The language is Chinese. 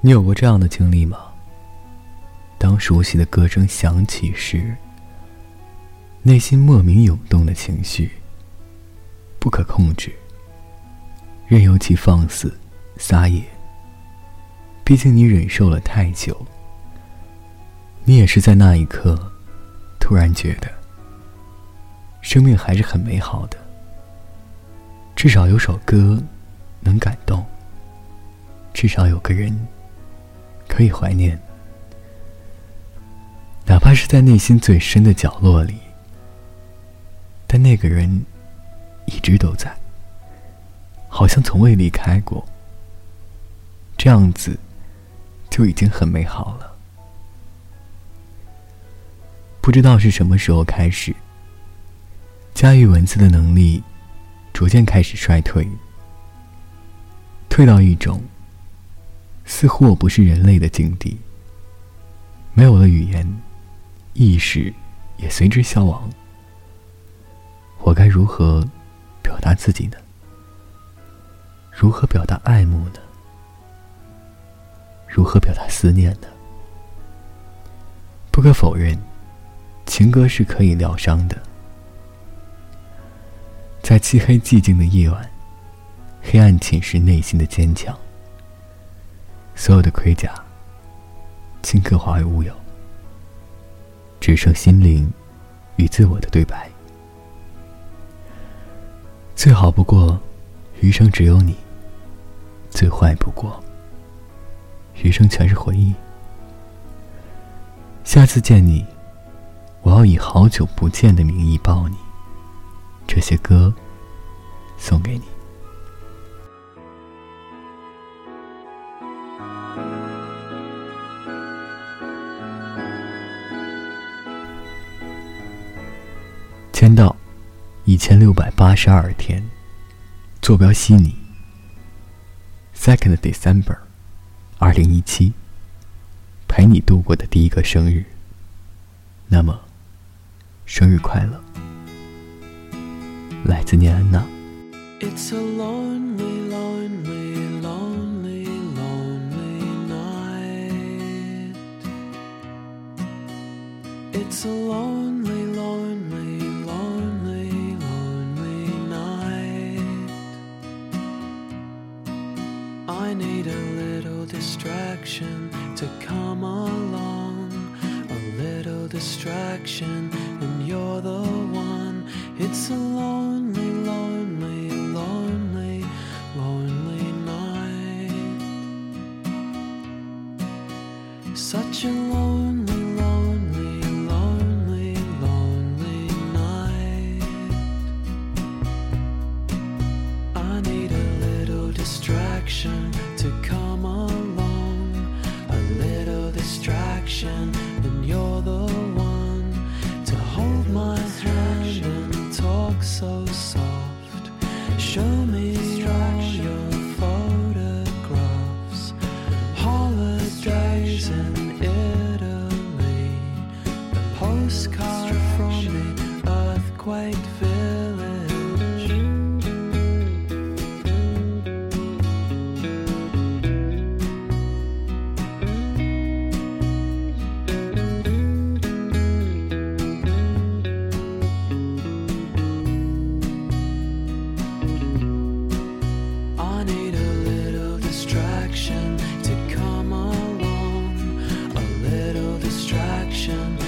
你有过这样的经历吗？当熟悉的歌声响起时，内心莫名涌动的情绪不可控制，任由其放肆撒野。毕竟你忍受了太久，你也是在那一刻突然觉得生命还是很美好的，至少有首歌能感动，至少有个人可以怀念，哪怕是在内心最深的角落里，但那个人一直都在，好像从未离开过，这样子就已经很美好了。不知道是什么时候开始，驾驭文字的能力逐渐开始衰退，退到一种似乎我不是人类的境地，没有了语言，意识也随之消亡。我该如何表达自己呢？如何表达爱慕呢？如何表达思念呢？不可否认，情歌是可以疗伤的。在漆黑寂静的夜晚，黑暗侵蚀内心的坚强，所有的盔甲顷刻化为乌有，只剩心灵与自我的对白。最好不过余生只有你，最坏不过余生全是回忆。下次见你，我要以好久不见的名义抱你，这些歌送给你。签到1682天，坐标悉尼 2nd December 2017，陪你度过的第一个生日。那么生日快乐，来自念安娜。 It's a lonely, lonely, lonely, lonely night. It's a lonely, lonely, lonely, lonely night. I need a little distraction to come along, a little distraction, and you're the one. It's a lonely, lonely, lonely, lonely night. Such a lonely, lonely, lonely, lonely night. I need a little distraction to come along, a little distraction, and you're the one to hold my hand and talk so soft. Show me all your photographs, holidays in Italy, a postcard from the earthquake village. I need a little distraction to come along, a little distraction,